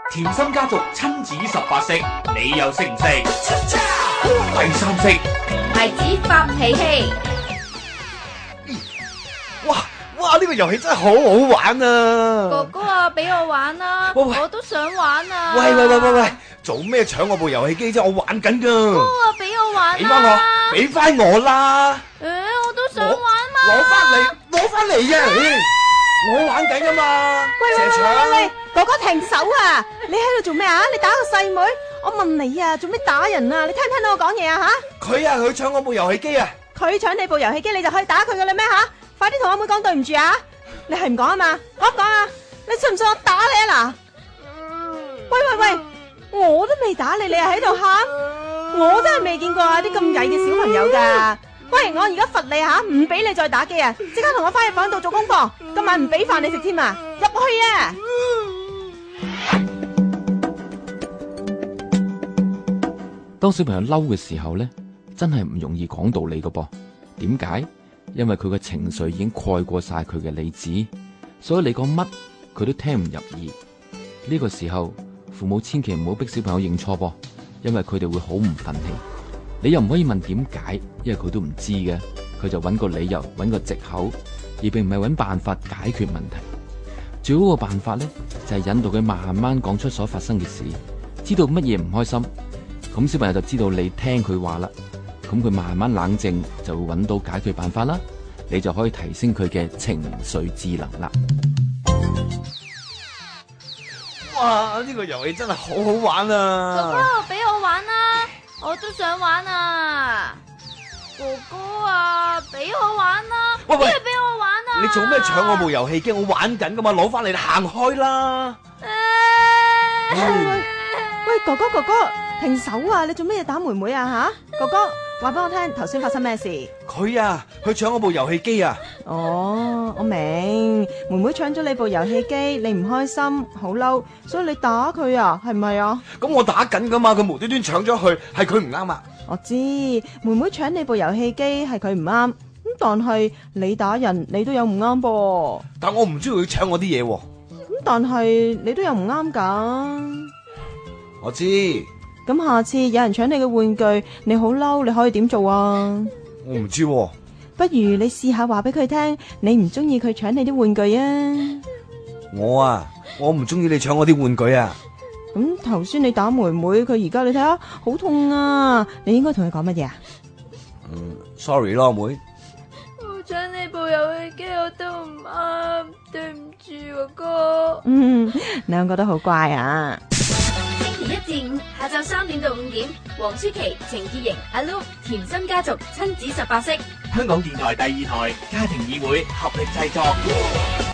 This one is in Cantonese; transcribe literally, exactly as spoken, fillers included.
甜心家族親子十八式，你又識唔識？第三式， 孩子發脾氣。 哇哇！呢個遊戲真係好好玩啊！ 哥哥啊，俾我玩啊！ 喂喂我都想玩啊！ 喂喂喂喂喂，做咩搶我部遊戲機啫？我玩緊噶。 哥啊，俾我玩啊！ 俾翻我，俾翻我啦！ 誒，我都想玩嘛！ 攞翻嚟，攞翻嚟啊！我玩緊噶嘛！ 喂喂喂喂喂，哥哥停手啊！你喺度做咩啊？你打個細妹？我問你啊，做咩打人啊？你聽唔聽到我講嘢啊？吓！ 佢啊，佢搶我部遊戲機啊！ 佢搶你部遊戲機，你就可以打佢噶啦咩吓？快啲同阿妹講對唔住啊！你係唔講啊嘛？講唔講啊？你信唔信我打你啊嗱？喂喂喂，我都未打你，你又喺度喊？我真係未見過啊啲咁曳嘅小朋友噶。喂，我而家罰你吓，唔俾你再打機啊！即刻同我翻入房度做功課，今晚唔俾飯你食添啊！入去啊！ 當小朋友嬲嘅時候呢，真係唔容易講道理噶噃。點解？因為佢嘅情緒已經蓋過晒佢嘅理智，所以你講乜佢都聽唔入耳。呢個時候，父母千祈唔好逼小朋友認錯噃，因為佢哋會好唔忿氣。你又唔可以問點解，因為佢都唔知嘅，佢就揾個理由，揾個藉口，而並唔係揾辦法解決問題。最好嘅辦法呢，就係引導佢慢慢講出所發生嘅事，知道乜嘢唔開心，咁小朋友就知道你聽佢話啦。咁佢慢慢冷靜，就會揾到解決辦法啦。你就可以提升佢嘅情緒智能啦。 哇！呢個遊戲真係好好玩啊！ 哥哥，俾我玩啊！我都想玩啊！哥哥啊，俾我玩啊！ 喂喂， 俾我玩啊！ 你做咩搶我部遊戲機？我玩緊噶嘛，攞翻嚟，你行開啦！ 喂喂喂，哥哥哥哥，停手啊！你做咩嘢打妹妹啊吓？哥哥，話俾我聽，頭先發生咩事？ 佢啊，佢搶我部遊戲機啊！ 哦，我明，妹妹搶咗你部遊戲機，你唔開心，好嬲，所以你打佢啊，係咪啊？ 咁我打緊噶嘛，佢無端端搶咗去，係佢唔啱啊！ 我知，妹妹搶你部遊戲機係佢唔啱，咁但係你打人，你都有唔啱噃。 但我唔中意佢搶我啲嘢喎。 咁但係你都有唔啱噶。 我知。 咁下次有人搶你嘅玩具，你好嬲，你可以點做啊？ 我唔知喎。 不如你試下話俾佢聽，你唔中意佢搶你啲玩具啊？ 我啊，我唔中意你搶我啲玩具啊。 咁頭先你打妹妹，佢而家你睇下好痛啊！你應該同佢講乜嘢啊？ 嗯 ，sorry 咯，妹。 我搶你部遊戲機，我都唔啱，對唔住哥哥。 嗯，兩個都好乖啊！ 星期一至五下晝三點到五點，黃舒淇、程潔瑩、阿 Lu、甜心家族親子十八式。 香港電台第二台家庭議會合力製作。